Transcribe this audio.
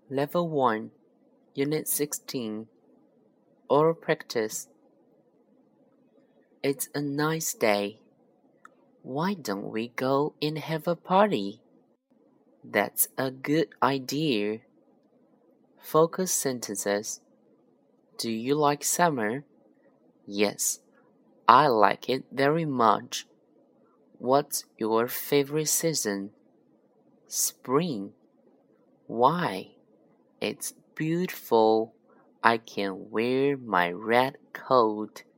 Level 1, Unit 16, Oral Practice. It's a nice day. Why don't we go and have a party? That's a good idea. Focus sentences. Do you like summer? Yes, I like it very much. What's your favorite season? Spring. Why? It's beautiful. I can wear my red coat.